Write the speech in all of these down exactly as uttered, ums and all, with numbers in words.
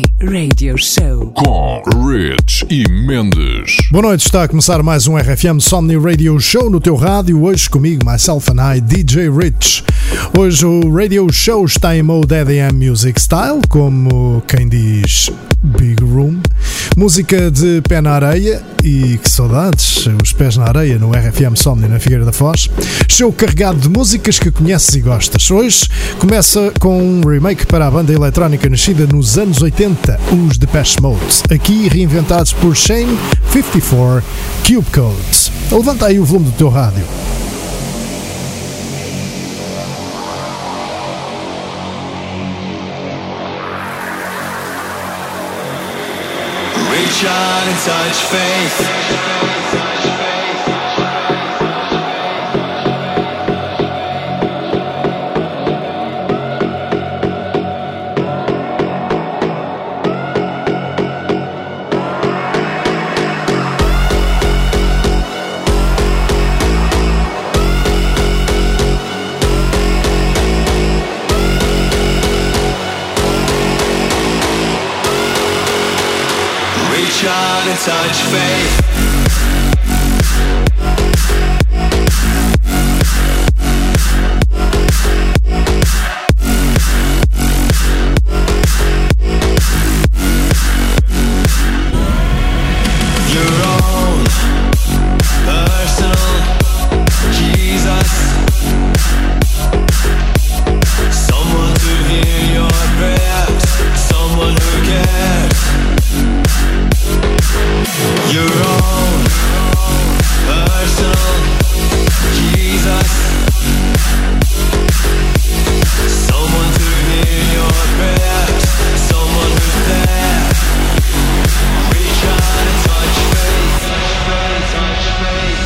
Radio Show com Rich e Mendes. Boa noite, está a começar mais um R F M Somni Radio Show no teu rádio. Hoje comigo, myself and I, D J Rich. Hoje o Radio Show está em mode E D M Music Style, como quem diz Big Room. Música de pé na areia e que saudades, os pés na areia no R F M Somni na Figueira da Foz. Show carregado de músicas que conheces e gostas. Hoje começa com um remake para a banda eletrónica nascida nos anos oitenta, os Depeche Mode, aqui reinventados por Shane cinquenta e quatro Cube Codes. Levanta aí o volume do teu rádio. Reach out and touch faith. Trying to touch faith. Your own personal Jesus. Someone to hear your prayers. Someone who cares. Your own personal Jesus. Someone to hear your prayers. Someone who's there. Reach out and touch faith. Touch faith.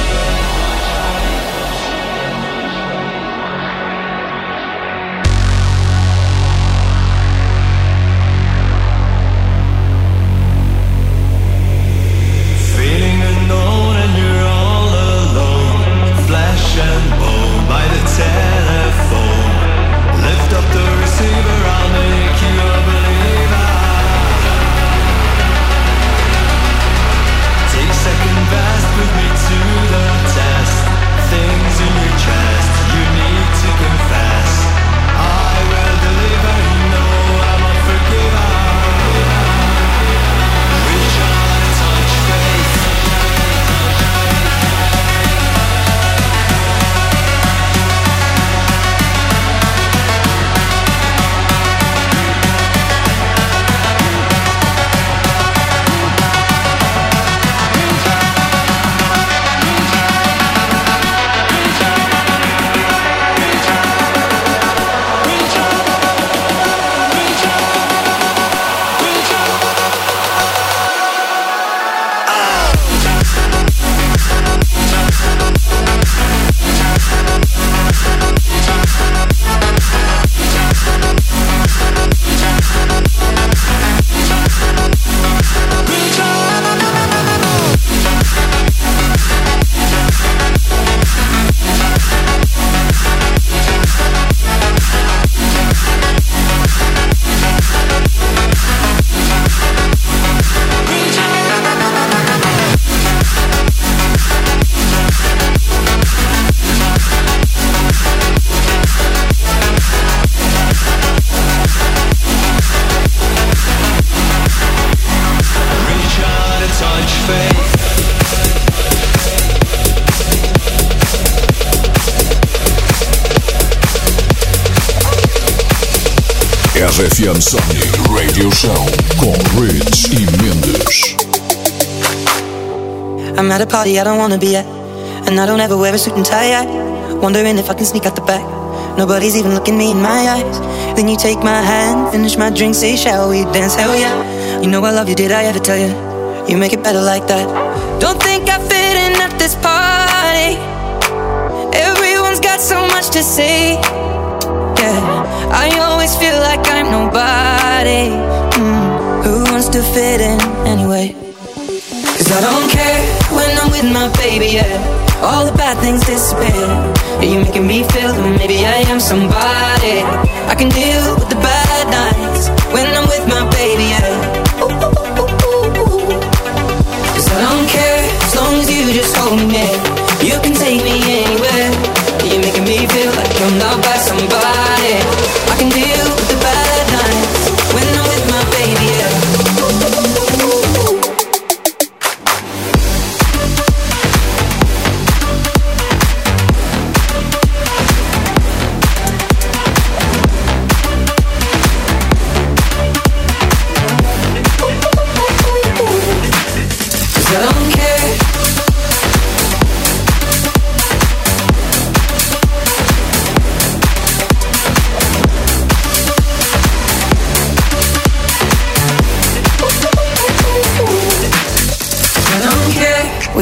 R F M Somni Radio Show com Rich e Mendes. I'm at a party I don't wanna be at, and I don't ever wear a suit and tie yet. Wondering if I can sneak out the back. Nobody's even looking me in my eyes. Then you take my hand, finish my drink, say shall we dance? Hell yeah. You know I love you, did I ever tell you? You make it better like that. Don't think I fit in at this party. Everyone's got so much to say. Yeah, I always feel like I'm nobody. mm, Who wants to fit in anyway? Cause I don't care when I'm with my baby, yeah. All the bad things disappear. You're making me feel that maybe I am somebody. I can deal with the bad nights when I'm with my baby, yeah.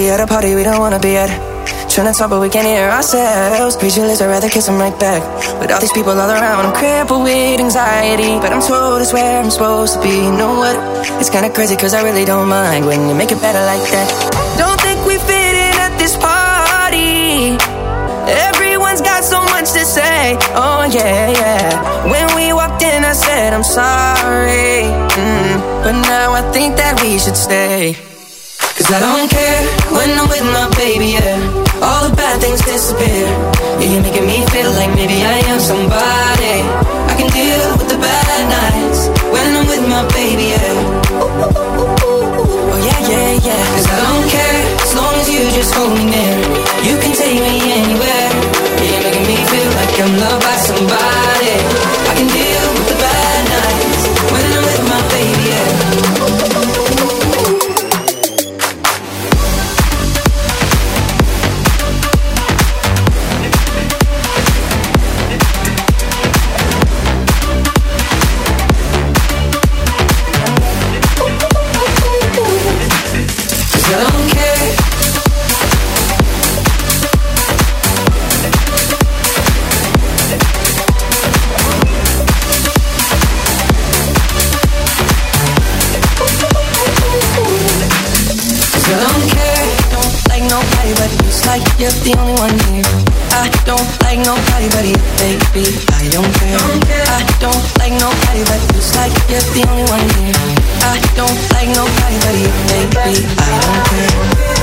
We at a party we don't wanna be at. Trying to talk but we can't hear ourselves. Read your lips, I'd rather kiss them right back. With all these people all around, I'm crippled with anxiety, but I'm told it's where I'm supposed to be. You know what? It's kinda crazy cause I really don't mind when you make it better like that. Don't think we fit in at this party. Everyone's got so much to say. Oh yeah, yeah. When we walked in I said I'm sorry, mm, but now I think that we should stay. Cause I don't care when I'm with my baby, yeah. All the bad things disappear. Yeah, you're making me feel like maybe I am somebody. I can deal with the bad nights when I'm with my baby, yeah. Oh yeah, yeah, yeah. Cause I don't care as long as you just hold me near. You can take me anywhere. Yeah, you're making me feel like I'm loved by somebody. I can deal with the bad nights when I'm with my baby, yeah. You're the only one here. I don't like nobody but you, baby. I don't care. I don't like nobody but you. It's like you're the only one here. I don't like nobody but you, baby. I don't care.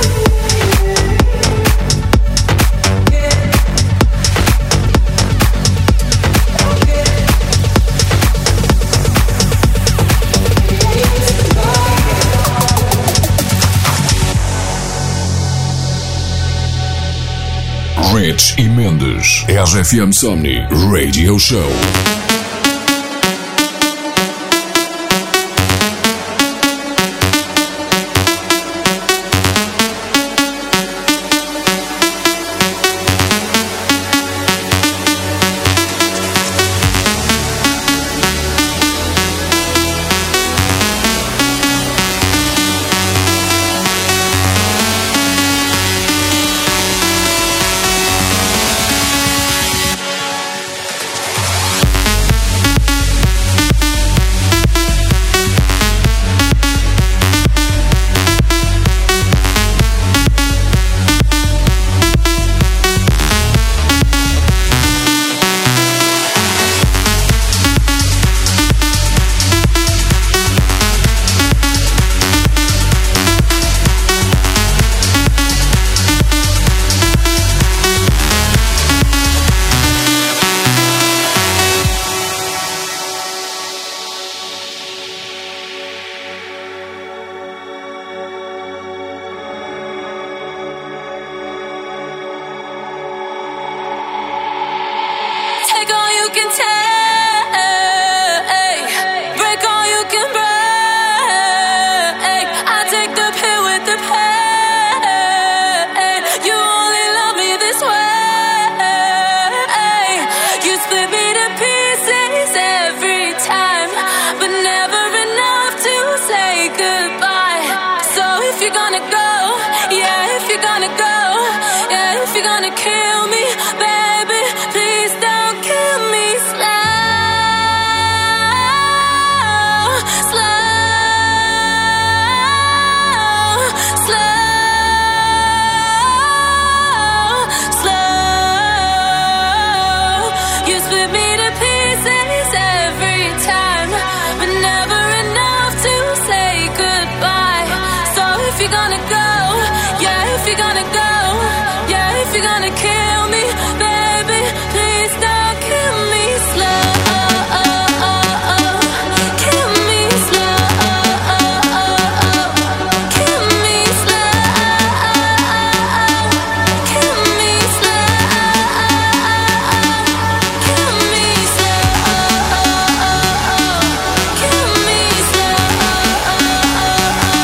Rich e Mendes, R F M Somni Radio Show.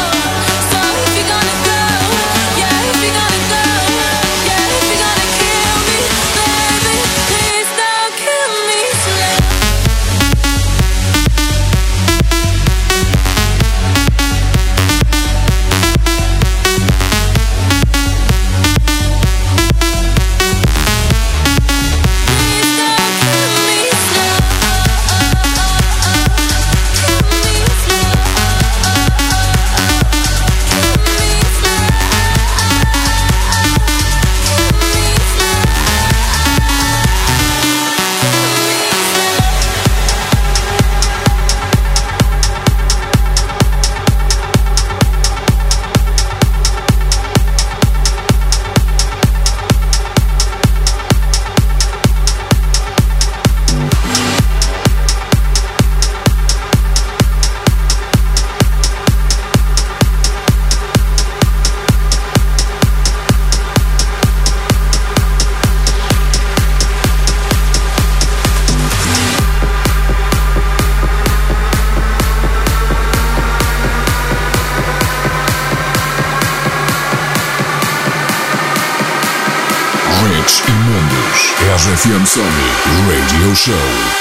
Kill Rich e Mendes. R F M Somni Radio Show.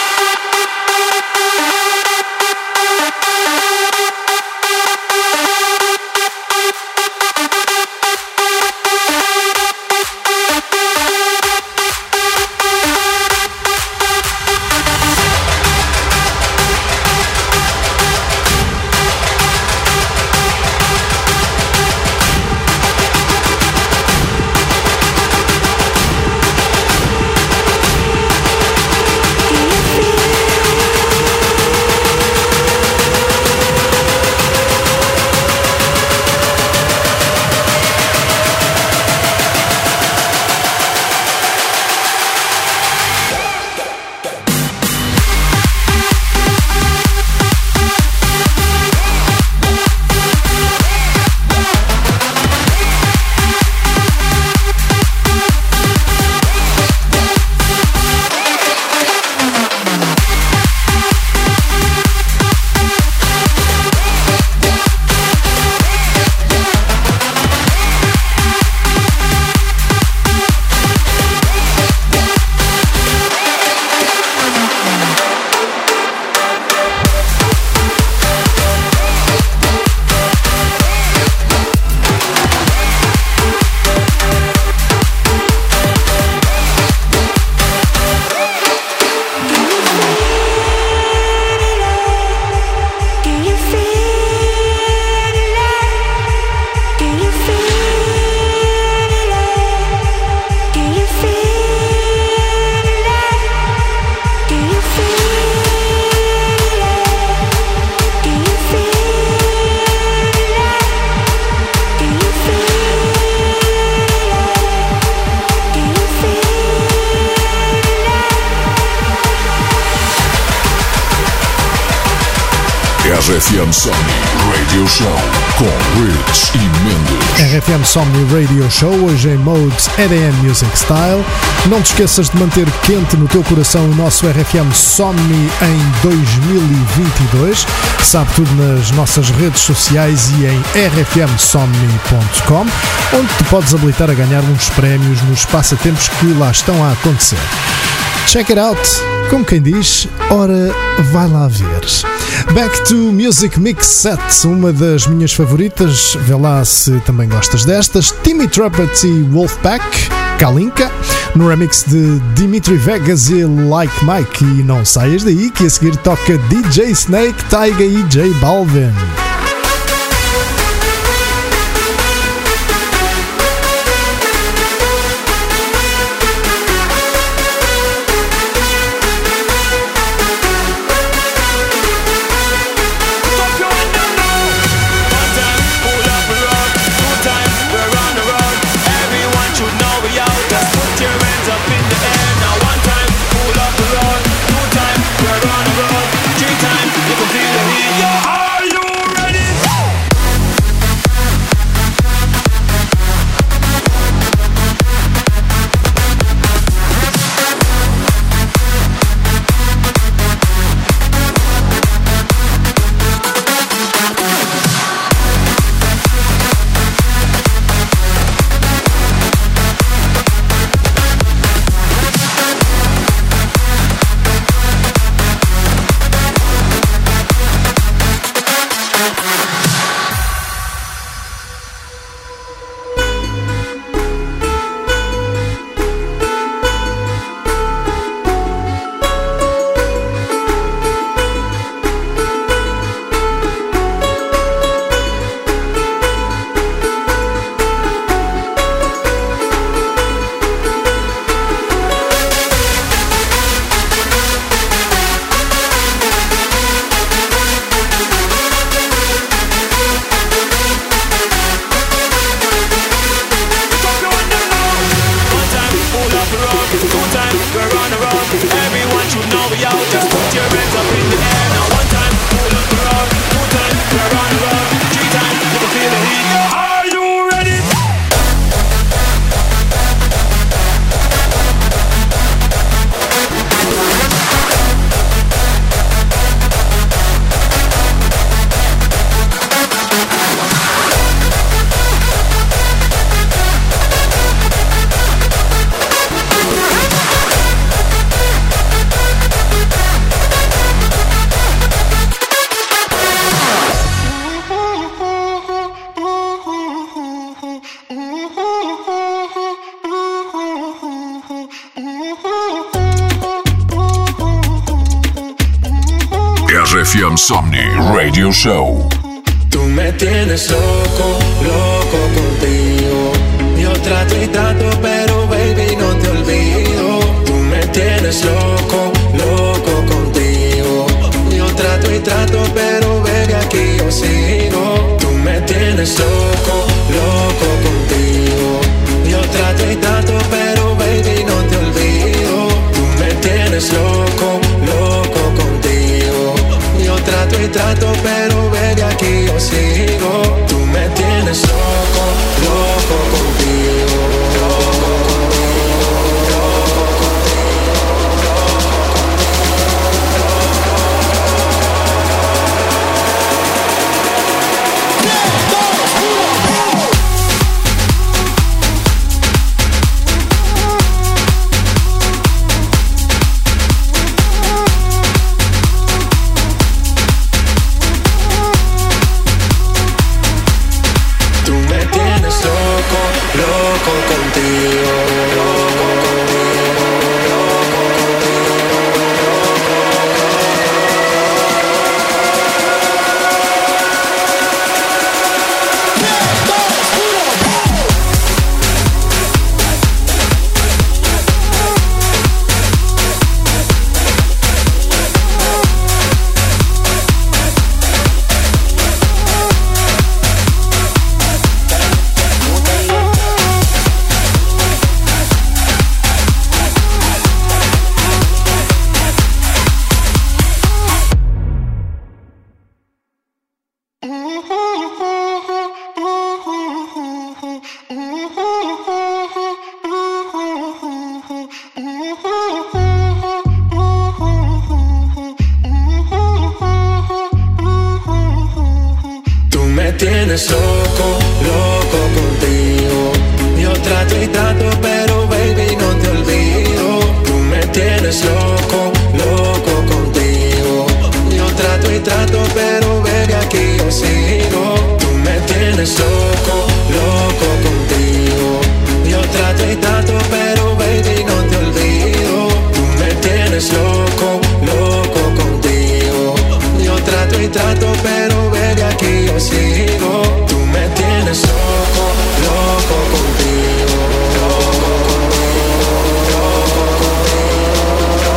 R F M Somni Radio Show com Rich e Mendes. R F M Somni Radio Show, hoje em mode E D M Music Style. Não te esqueças de manter quente no teu coração o nosso R F M Somni em dois mil e vinte e dois. Sabe tudo nas nossas redes sociais e em r f m somni ponto com, onde te podes habilitar a ganhar uns prémios nos passatempos que lá estão a acontecer. Check it out! Como quem diz, ora, vai lá ver. Back to Music Mix Set, uma das minhas favoritas, vê lá se também gostas destas. Timmy Trumpet e Wolfpack, Kalinka, no remix de Dimitri Vegas e Like Mike. E não saias daí que a seguir toca D J Snake, Tyga e J Balvin. Are you ready? F M Somni Radio Show. Tú me tienes loco, loco contigo. Yo trato y trato, pero baby no te olvido. Tú me tienes loco, loco contigo. Yo trato y trato, pero baby aquí yo sigo. Tú me tienes loco, loco contigo. Yo trato y trato, pero baby no te olvido. Tú me tienes loco, loco contigo. Yo trato y trato, pero baby aquí yo sigo. Tú me tienes loco, loco contigo. Loco contigo, loco tienes loco, loco contigo. Yo trato y trato, pero baby no te olvido. Tú me tienes loco, loco contigo. Yo trato y trato, pero baby aquí yo sigo. Tú me tienes loco, loco contigo. Yo trato y trato, pero baby no te olvido. Tú me tienes loco, loco contigo. Yo trato y trato, pero baby aquí yo sigo. Tú me tienes loco, loco contigo. Loco contigo, loco contigo,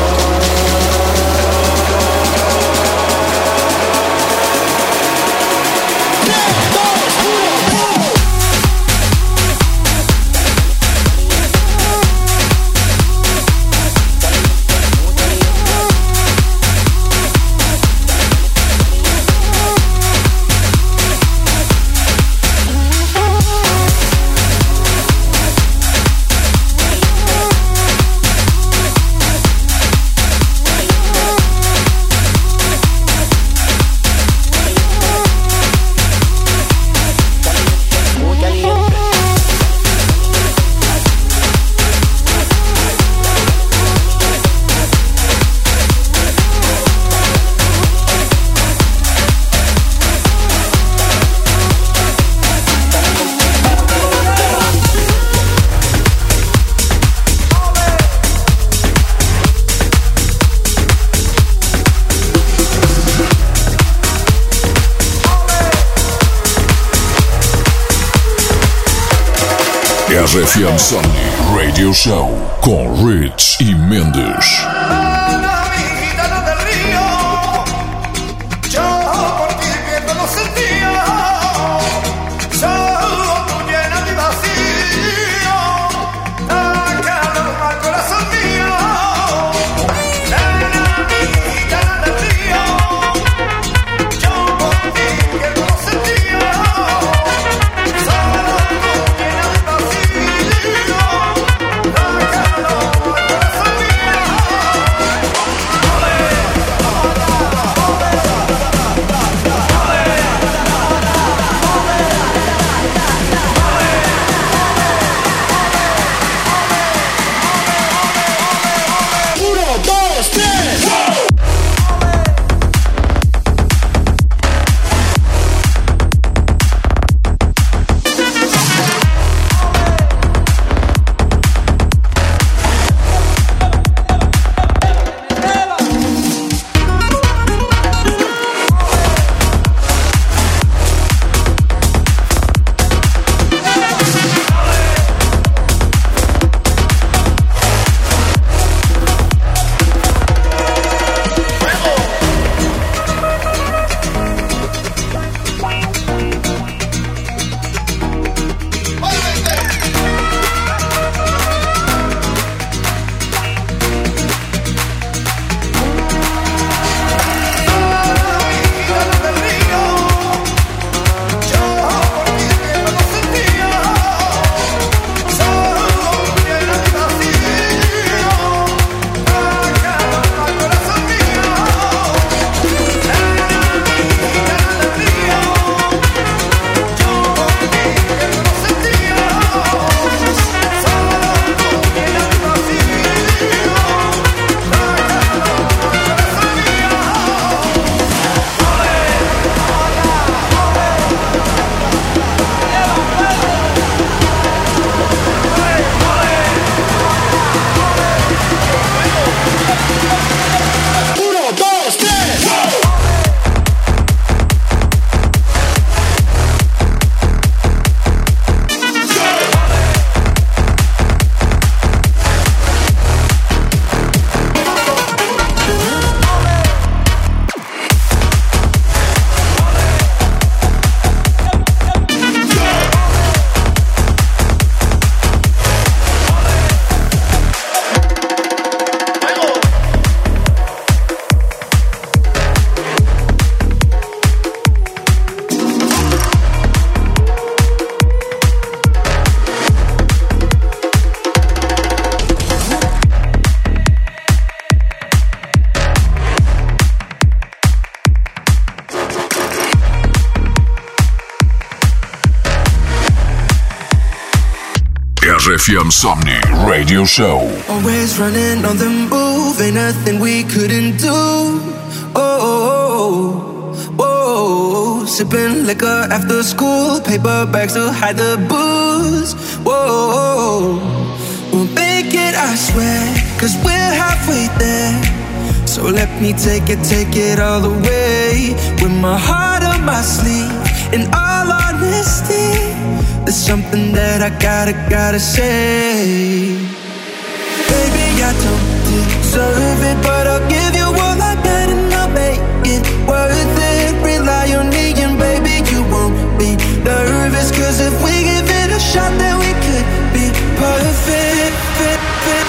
R F M Somni Radio Show com Rich e Mendes. Thank you. R F M Somni Radio Show. Always running on the move, ain't nothing we couldn't do. Oh, oh, oh, oh. Sipping liquor after school, paper bags to hide the booze. Whoa, we'll make it, I swear, cause we're halfway there. So let me take it, take it all the way. With my heart on my sleeve, in all honesty, there's something that I gotta, gotta say. Baby, I don't deserve it, but I'll give you all I got and I'll make it worth it. Rely on me and baby, you won't be nervous, cause if we give it a shot, then we could be perfect. Fit, fit.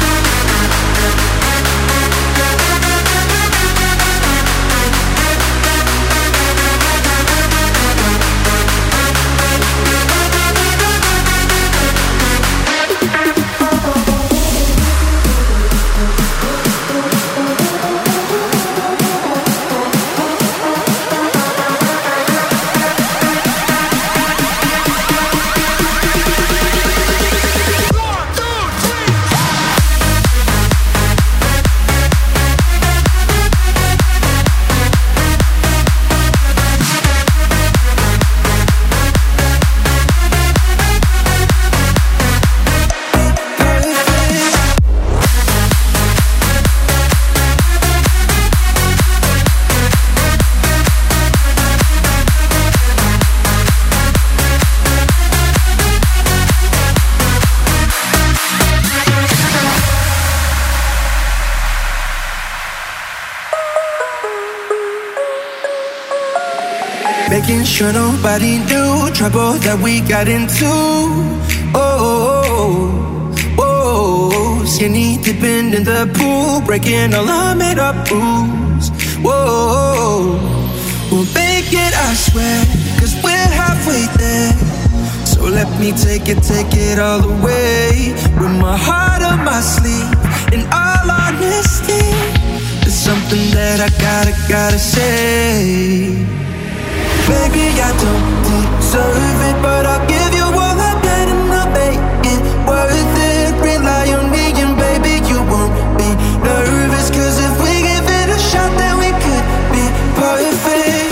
Making sure nobody knew trouble that we got into. Oh, oh, oh, skinny dipping in the pool, breaking all our made up rules. Whoa, we'll make it, I swear, cause we're halfway there. So let me take it, take it all the way. With my heart on my sleeve, in all honesty, there's something that I gotta, gotta say. Baby, I don't deserve it, but I'll give you all I got and I'll make it worth it. Rely on me and baby, you won't be nervous, cause if we give it a shot, then we could be perfect.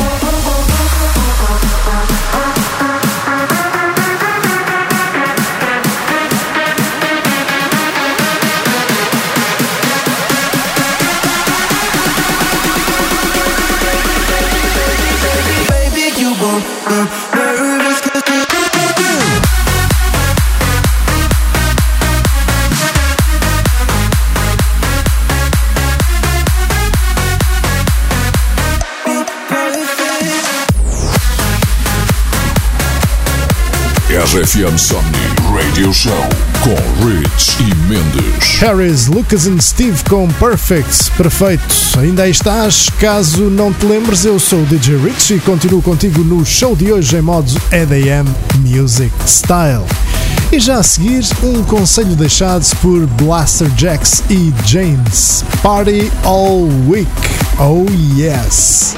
R F M Somni Radio Show com Rich e Mendes. Harris, Lucas and Steve com Perfect. Perfeito. Ainda aí estás. Caso não te lembres, eu sou o D J Rich e continuo contigo no show de hoje em modo E D M Music Style. E já a seguir, um conselho deixado por Blaster Jacks e James. Party all week. Oh yes.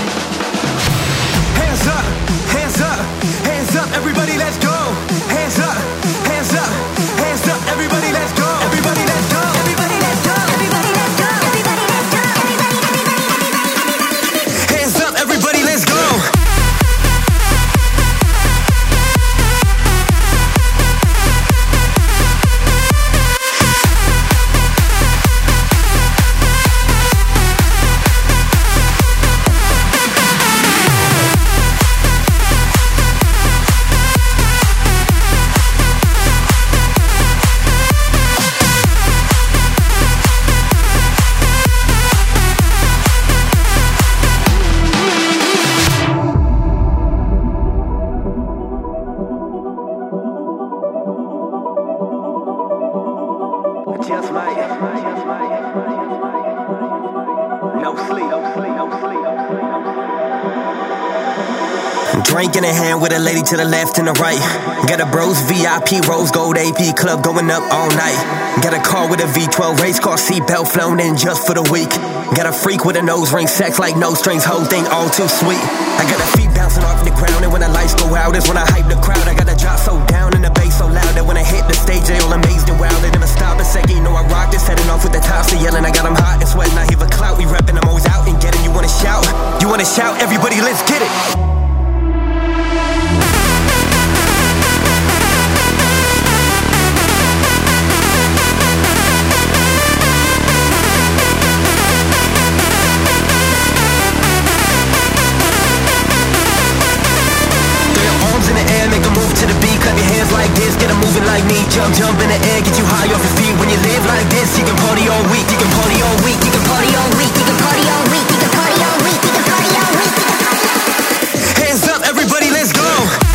Hands up, hands up, hands up, everybody let's go. Hands up, hands up, hands up, everybody let's go. Everybody let's go. Everybody let's go. Everybody let's go. Everybody let's go. Everybody, everybody, everybody. Hands up, everybody let's go. drink in a hand with a lady to the left and the right. Got a bros V I P rose gold A P club going up all night. Got a car with a V twelve race car seatbelt flown in just for the week. Got a freak with a nose ring, sex like no strings, whole thing all too sweet. I got a feet bouncing off the ground, and when the lights go out is when I hype the crowd. I got a drop so down and the bass so loud that when I hit the stage they all amazed and wild. They never stop a second, you know I rock this. Heading off with the tops, they yelling, I got them hot and sweating. I hear the clout, we reppin', I'm always out and getting. You wanna shout? You wanna shout? Everybody, let's get it. Make a move to the beat, clap your hands like this, get them moving like me. Jump, jump in the air, get you high off your feet. When you live like this, you can party all week, you can party all week, you can party all week, you can party all week, you can party all week, you can party all week, you can party all week. Hands up, everybody, let's go.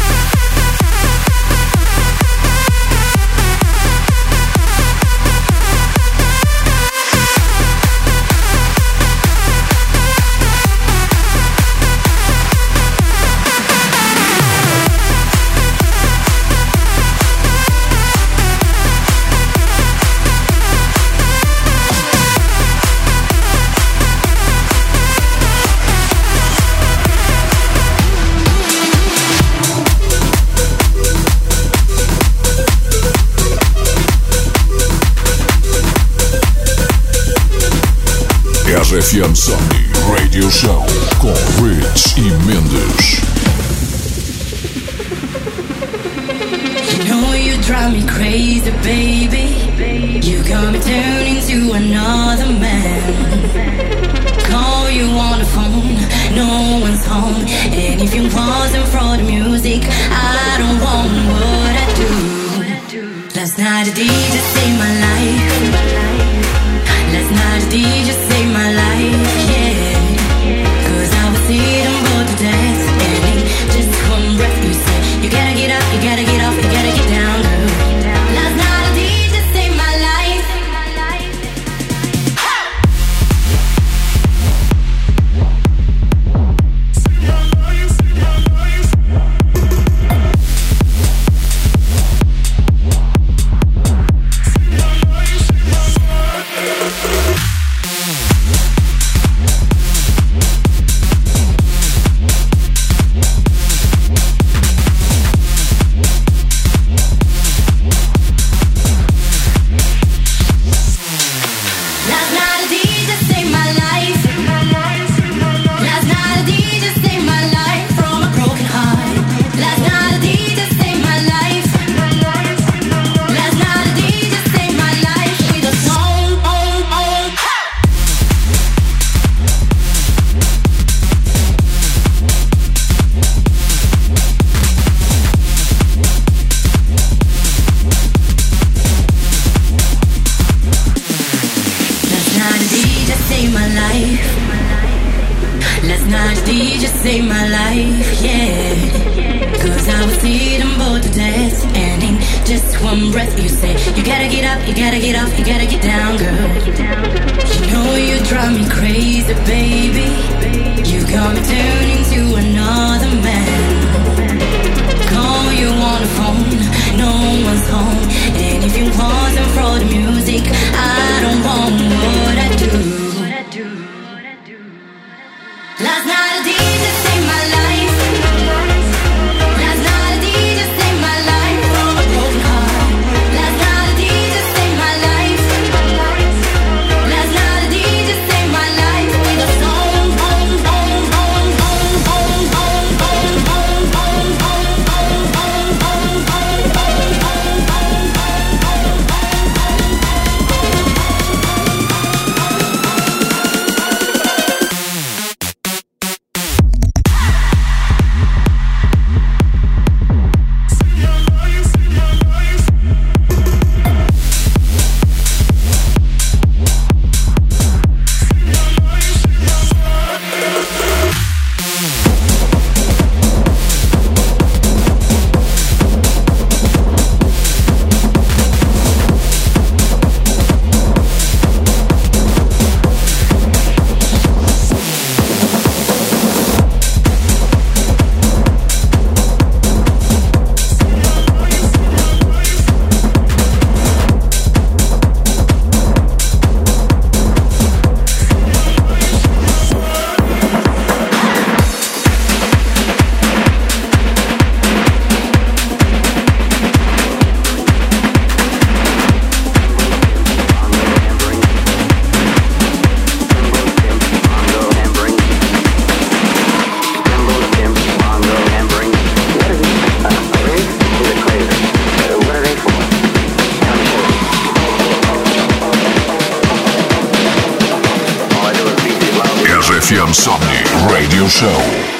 R F M Somni Radio Show com Rich e Mendes. You know you drive me crazy, baby. You got me turning into another man. Call you on the phone, no one's home. And if you wasn't for the music, I don't want what I do. Last night the D J saved my life. Last night the D J saved my life, yeah. Cause I was sitting bored to death. And in just one breath you said, you gotta get up, you gotta get off, you gotta get down, girl. Last night the D J saved my life. M Somni Radio Show.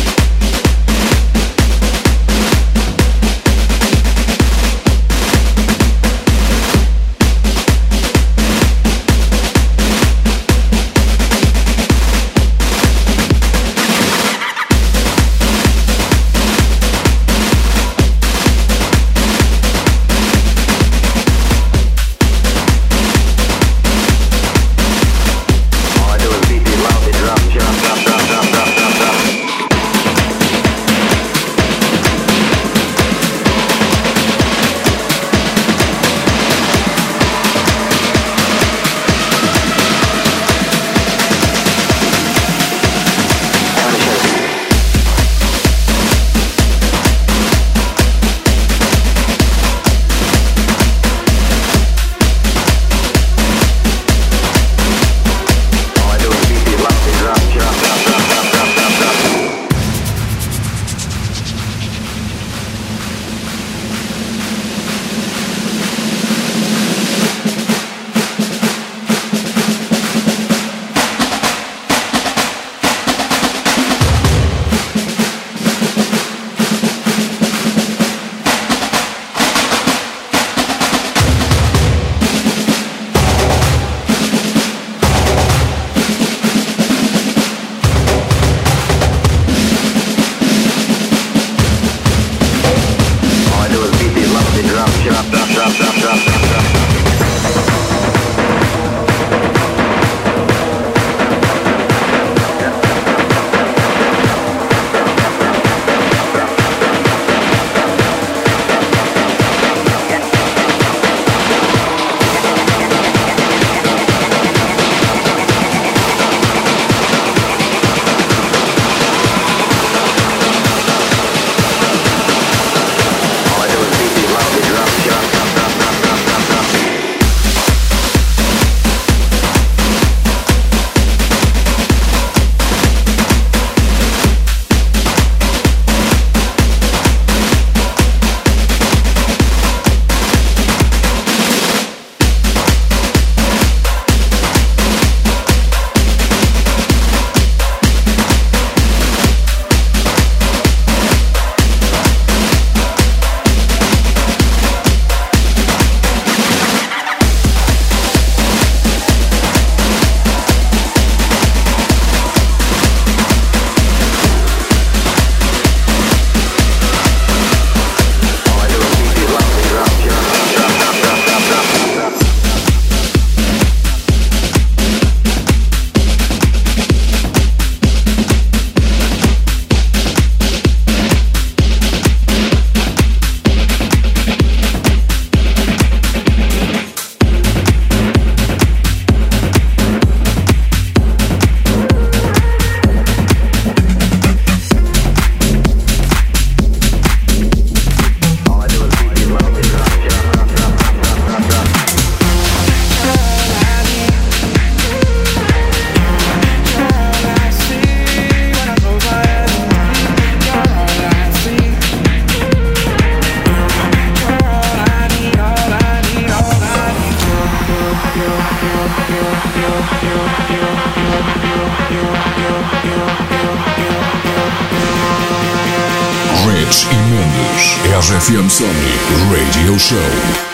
Rich e Mendes, R F M Somni Radio Show.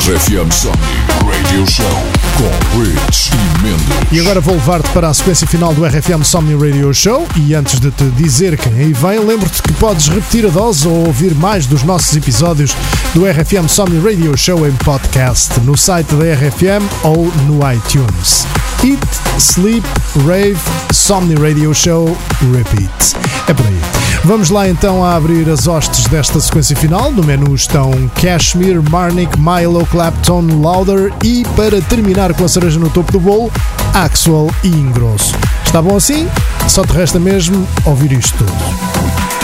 R F M Somni Radio Show com Rich e Mendes. E agora vou levar-te para a sequência final do R F M Somni Radio Show. E antes de te dizer quem aí vem, lembro-te que podes repetir a dose ou ouvir mais dos nossos episódios do R F M Somni Radio Show em podcast no site da R F M ou no iTunes. Eat, Sleep, Rave, Somni Radio Show, Repeat. É por aí. Vamos lá então a abrir as hostes desta sequência final. No menu estão Kashmir, Marnik, Milo, Clapton, Louder e, para terminar com a cereja no topo do bolo, Axwell e Ingrosso. Está bom assim? Só te resta mesmo ouvir isto tudo.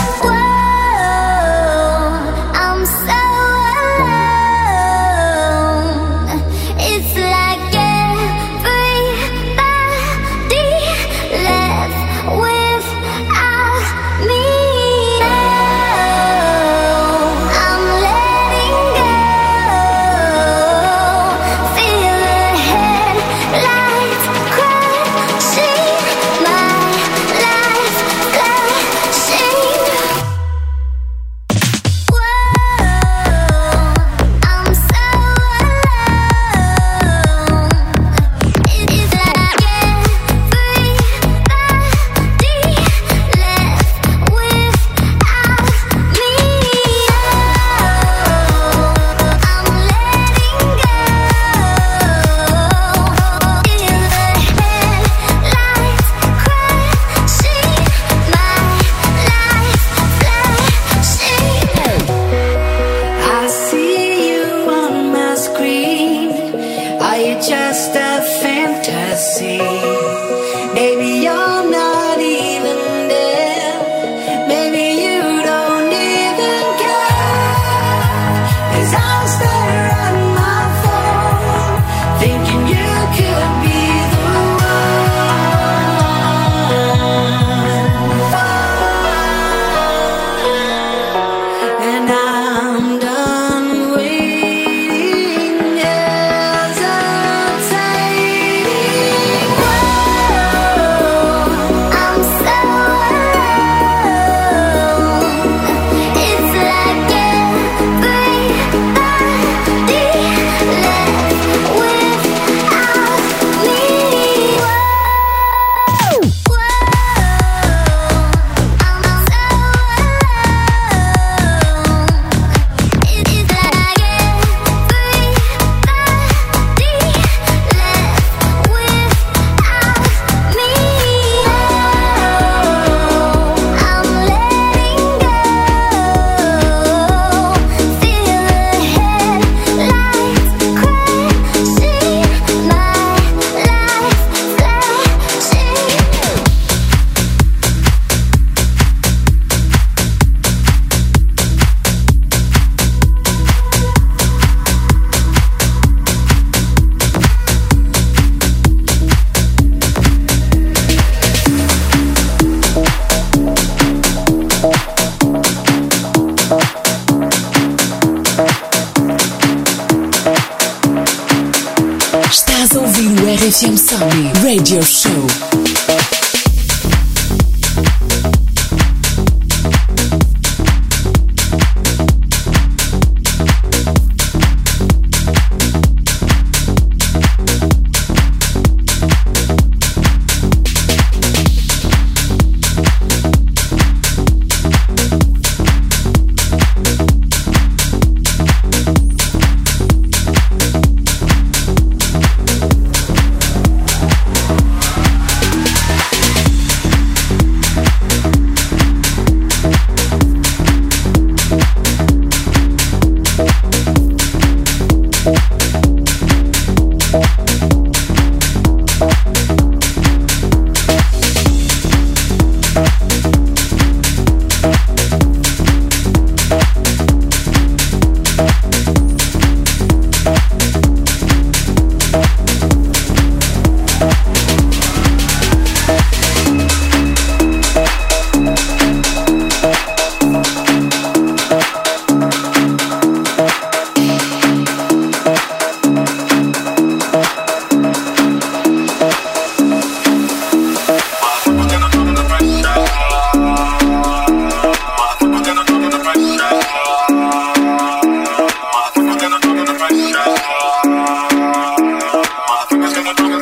R F M Somni Radio Show.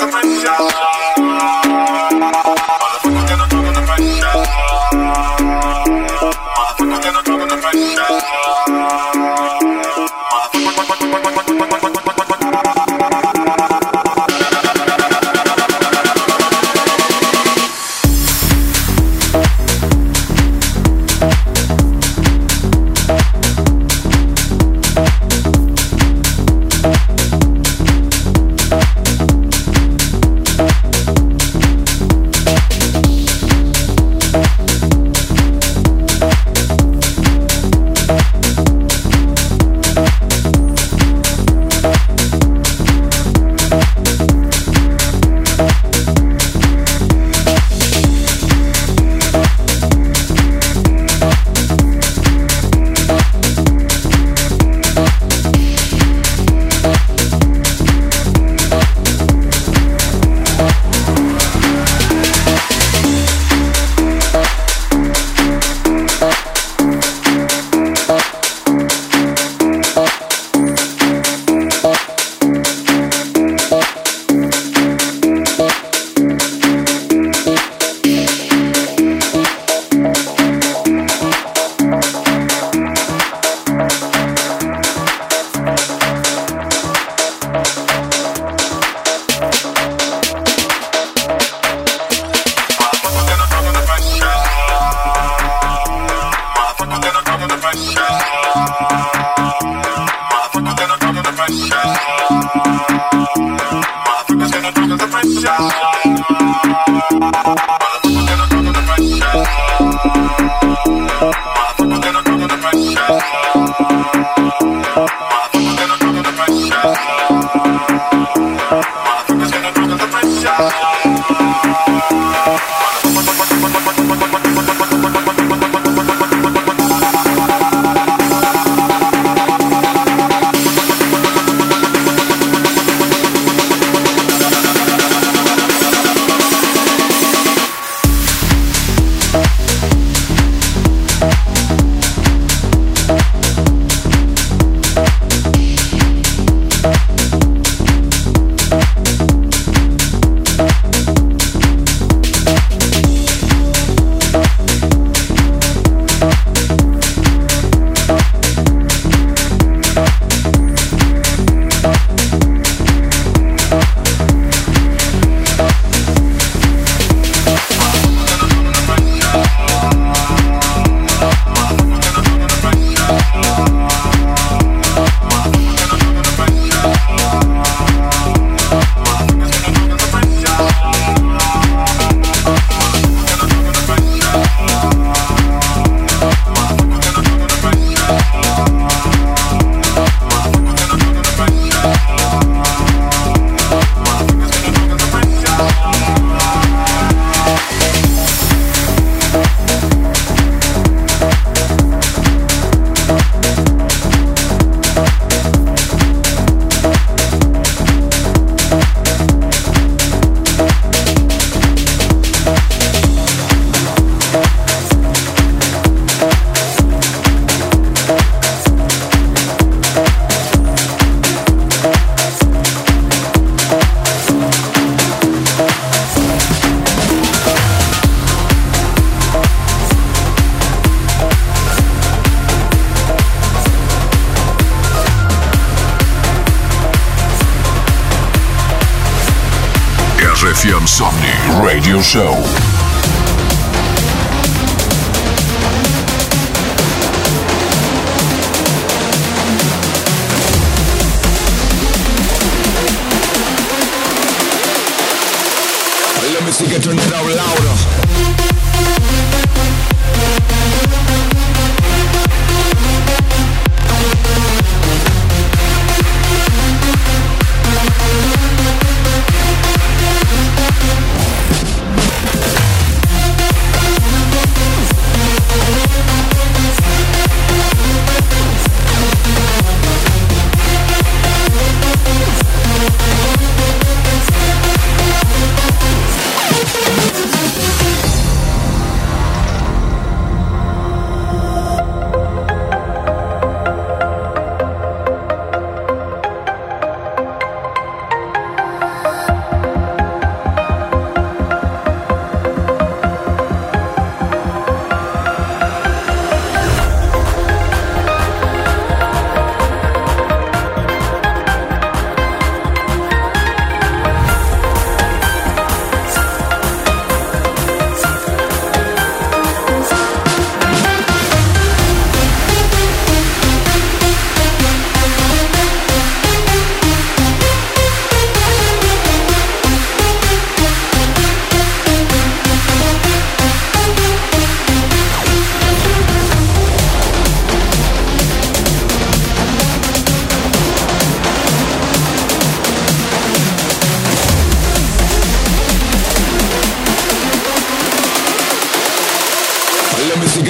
эф эм Somni Radio Show. Let me see you turn it out louder.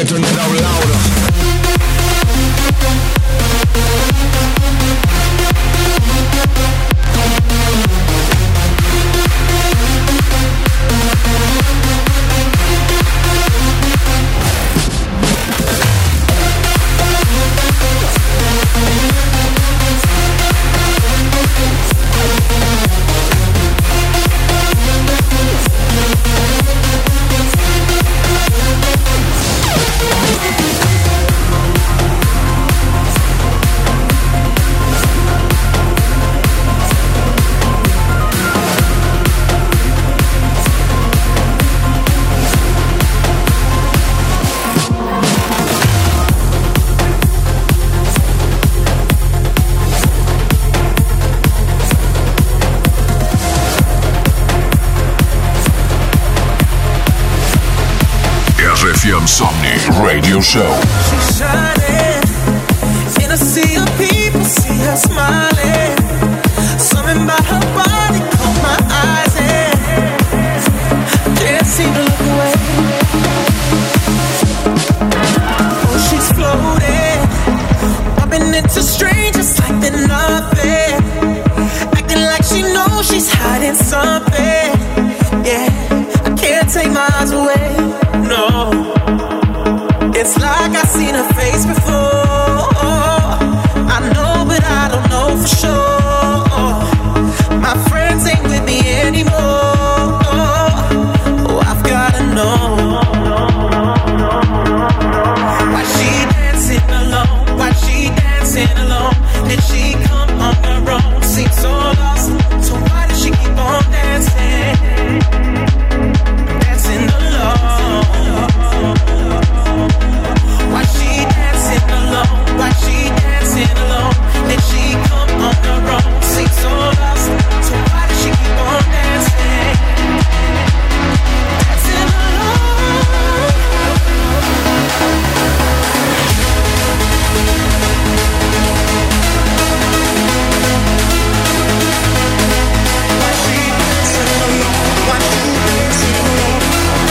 reggae, turn it out louder. R F M Somni Radio Show. She's shining in a sea of people, see her smiling. Something about her body caught my eyes and I can't seem to look away. Oh, she's floating, bumping into strangers like they're nothing, acting like she knows she's hiding something. Yeah, I can't take my eyes away. No, it's like I've seen her face before. I know, but I don't know for sure. My friends ain't with me anymore. Oh, I've gotta know. Why she dancing alone? Why she dancing alone? Did she come on her own? Seems so lost. So why does she keep on dancing? Dancing alone. Why she dancing alone? Why she dancing alone? Did she come on her own? Seems so lost. So why does she keep on dancing? Dancing alone. Why she dancing alone? Why she dancing alone?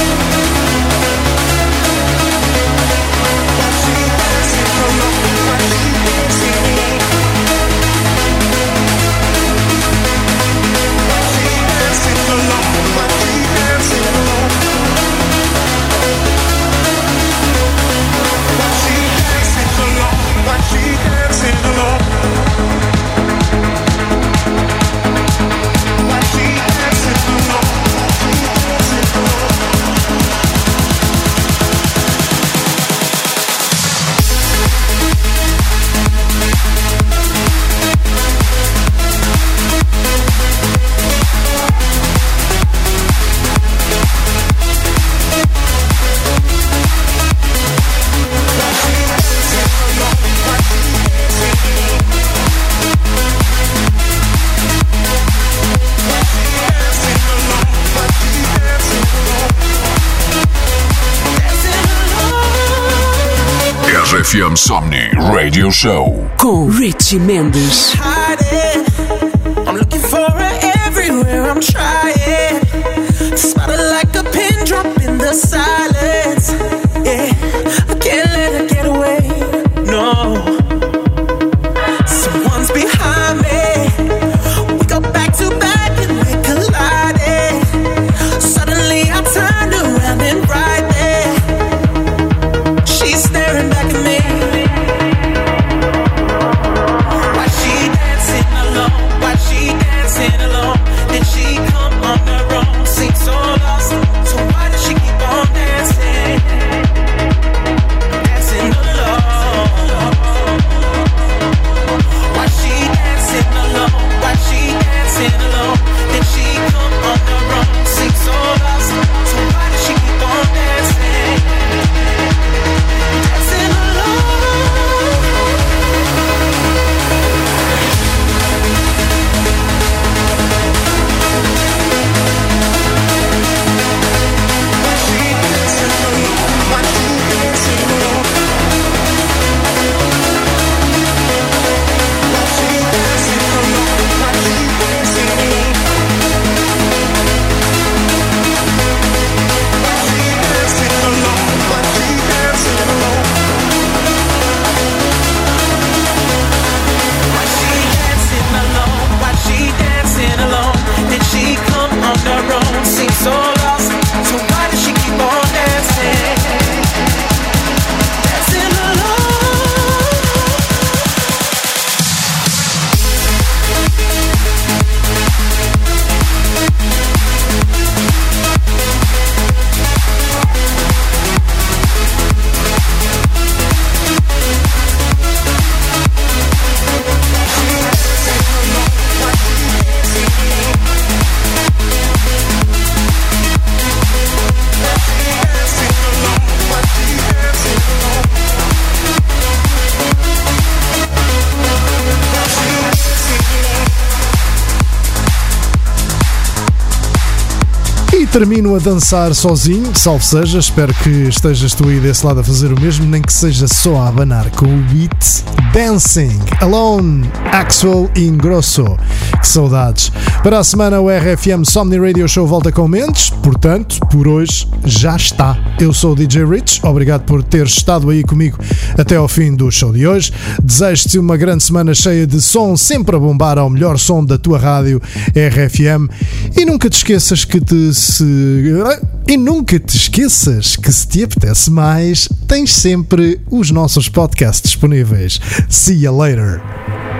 Why she dancing alone? Why she dancing alone? Why she dancing alone? Why she dancing alone? Why she dancing alone? Why she dancing alone? Why she dancing alone? R F M Somni Radio Show. Com Richie Mendes. Hiding. I'm looking for her everywhere. I'm trying. Spot her like a pin drop in the silence. Yeah, I can't let her get away. No, someone's behind me. We go back to back and we collided. Suddenly I turned around and right there, she's staring back at me. Why she dancing alone? Why she dancing alone? Did she come on termino a dançar sozinho, salve seja, espero que estejas tu aí desse lado a fazer o mesmo, nem que seja só a abanar com o beat. Dancing Alone, Axwell Ingrosso. Que saudades. Para a semana o R F M Somni Radio Show volta com mentes, portanto, por hoje já está. Eu sou o D J Rich, obrigado por ter estado aí comigo até ao fim do show de hoje. Desejo-te uma grande semana cheia de som, sempre a bombar ao melhor som da tua rádio R F M. E nunca te esqueças que te se... E nunca te esqueças que se te apetece mais, tens sempre os nossos podcasts disponíveis. See you later.